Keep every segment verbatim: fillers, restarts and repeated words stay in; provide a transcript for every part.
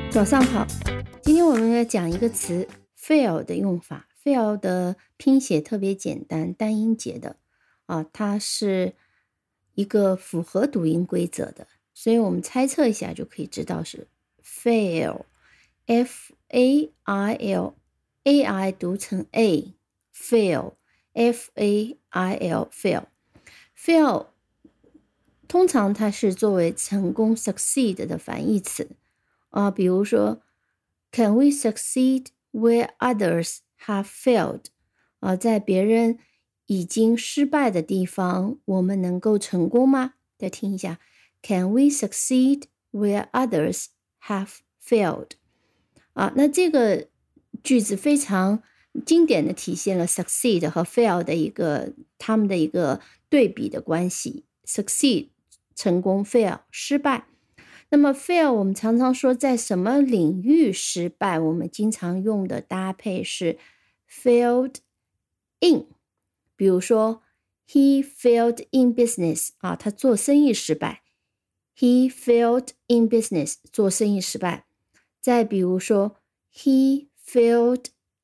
早上好，今天我们要讲一个词 fail 的用法。fail 的拼写特别简单，单音节的啊，它是一个符合读音规则的，所以我们猜测一下就可以知道是 fail F A I L A I 读成 A fail F A I L fail fail 通常它是作为成功 succeed 的反义词啊，比如说 Can we succeed where others have failed 啊，在别人已经失败的地方我们能够成功吗？再听一下 Can we succeed where others have failed 啊，那这个句子非常经典的体现了 succeed 和 fail 的一个他们的一个对比的关系。 succeed 成功， fail 失败。那么 fail 我们常常说在什么领域失败，我们经常用的搭配是 failed in， 比如说 he failed in business 啊，他做生意失败， he failed in business 做生意失败。再比如说 he failed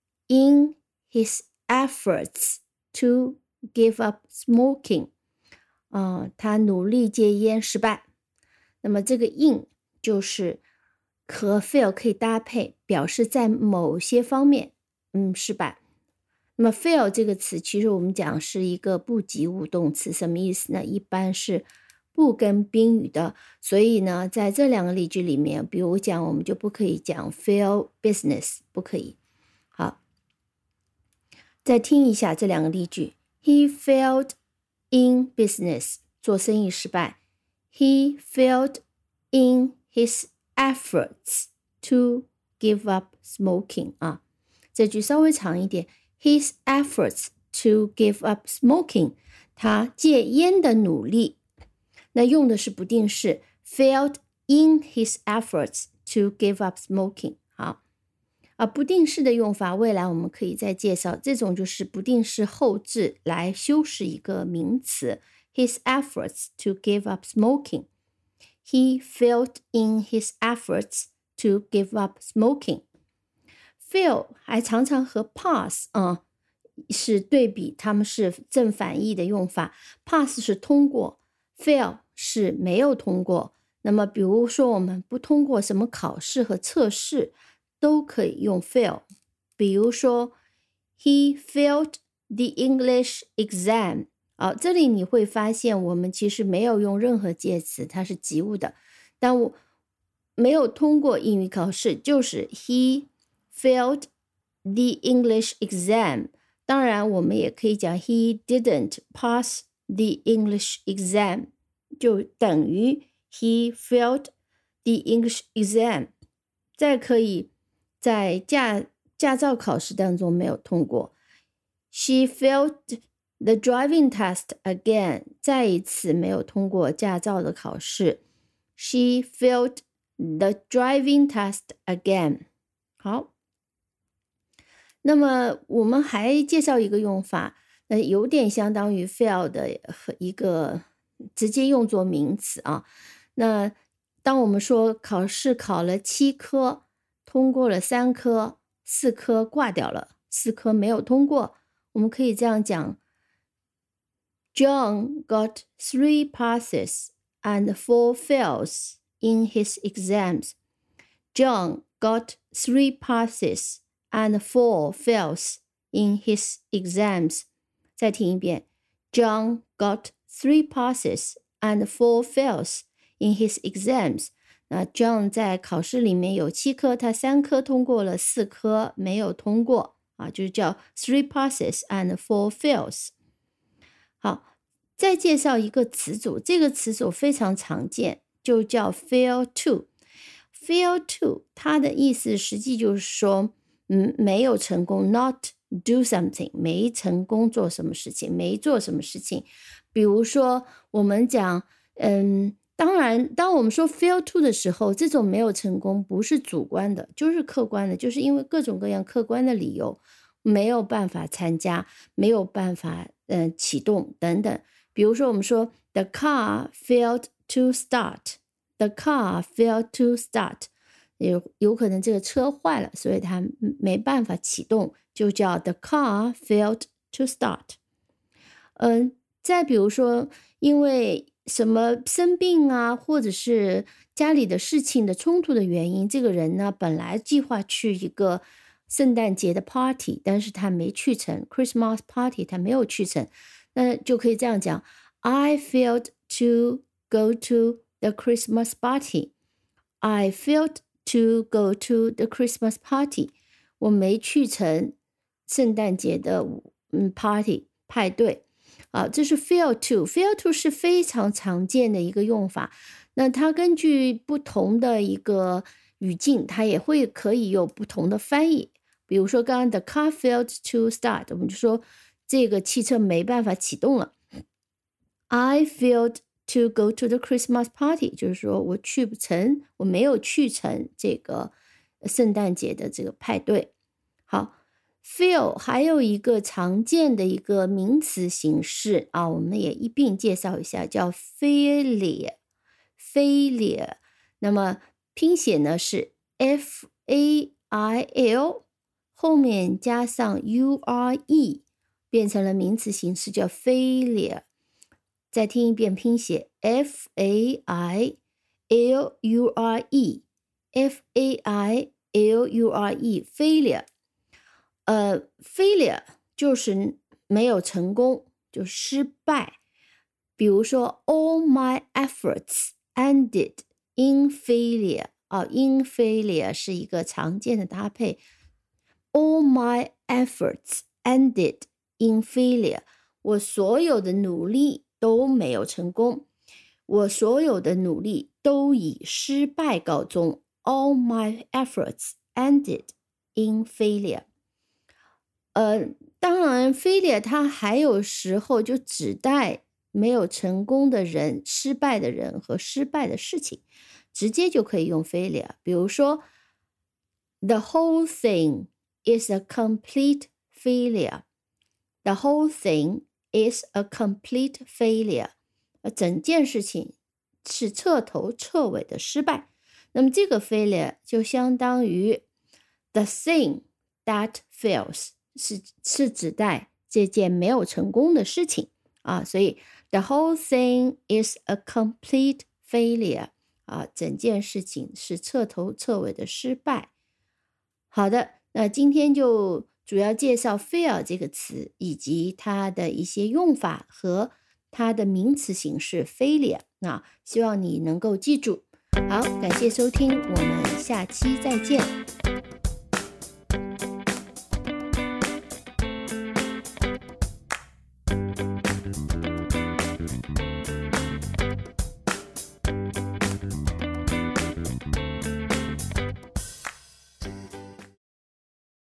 in his efforts to give up smoking 啊，他努力戒烟失败。那么这个 in 就是和 fail 可以搭配，表示在某些方面嗯失败。那么 fail 这个词其实我们讲是一个不及物动词，什么意思呢？一般是不跟宾语的，所以呢在这两个例句里面，比如讲我们就不可以讲 fail business， 不可以。好，再听一下这两个例句。 He failed in business 做生意失败， He failed in his efforts to give up smoking 啊，这句稍微长一点， His efforts to give up smoking 他戒烟的努力，那用的是不定式 failed in his efforts to give up smoking。 好啊，不定式的用法未来我们可以再介绍，这种就是不定式后置来修饰一个名词 his efforts to give up smoking， He failed in his efforts to give up smoking。 fail 还常常和 pass 啊是对比，他们是正反义的用法。 pass 是通过， fail 是没有通过。那么比如说我们不通过什么考试和测试都可以用 fail， 比如说 He failed the English exam 啊，这里你会发现我们其实没有用任何介词，它是及物的，但我没有通过英语考试，就是 He failed the English exam。 当然我们也可以讲 He didn't pass the English exam， 就等于 He failed the English exam。 再可以在驾驾照考试当中没有通过， She failed the driving test again， 再一次没有通过驾照的考试， She failed the driving test again。 好，那么我们还介绍一个用法，那有点相当于 fail 的一个直接用作名词啊。那当我们说考试考了七科，通过了三科，四科挂掉了，四科没有通过，我们可以这样讲 John got three passes and four fails in his exams. John got three passes and four fails in his exams. 再听一遍 John got three passes and four fails in his exams。那 John 在考试里面有七科，他三科通过了，四科没有通过啊，就是叫 three passes and four fails。 好，再介绍一个词组，这个词组非常常见，就叫 fail to。 fail to 它的意思实际就是说嗯，没有成功， not do something， 没成功做什么事情，没做什么事情。比如说我们讲嗯当然当我们说 fail to 的时候，这种没有成功不是主观的，就是客观的，就是因为各种各样客观的理由没有办法参加，没有办法嗯启动等等。比如说我们说 the car failed to start， the car failed to start， 有有可能这个车坏了，所以它没办法启动，就叫 the car failed to start。嗯，再比如说，因为什么生病啊，或者是家里的事情的冲突的原因，这个人呢本来计划去一个圣诞节的 party， 但是他没去成 ，Christmas party 他没有去成，那就可以这样讲 ：I failed to go to the Christmas party. I failed to go to the Christmas party. 我没去成圣诞节的嗯 party 派对。啊，这是 fail to。fail to 是非常常见的一个用法。那它根据不同的一个语境，它也会可以有不同的翻译。比如说刚刚 the car failed to start， 我们就说这个汽车没办法启动了。I failed to go to the Christmas party， 就是说我去不成，我没有去成这个圣诞节的这个派对。好。fail 还有一个常见的一个名词形式啊，我们也一并介绍一下，叫 failure。failure， 那么拼写呢是 F A I L， 后面加上 U R E， 变成了名词形式，叫 failure。再听一遍拼写 F A I L U R E，F A I L U R E，failure。呃 failure 就是没有成功，就失败。比如说 all my efforts ended in failure 啊 in failure 是一个常见的搭配。all my efforts ended in failure， 我所有的努力都没有成功，我所有的努力都以失败告终。all my efforts ended in failure。呃，当然 failure 它还有时候就指代没有成功的人、失败的人和失败的事情，直接就可以用 failure。比如说 the whole thing is a complete failure， the whole thing is a complete failure， 整件事情是彻头彻尾的失败。那么这个 failure 就相当于 the thing that fails，是是指代这件没有成功的事情啊，所以 the whole thing is a complete failure 啊，整件事情是彻头彻尾的失败。好的，那今天就主要介绍 fail 这个词，以及它的一些用法和它的名词形式 failure。那希望你能够记住。好，感谢收听，我们下期再见。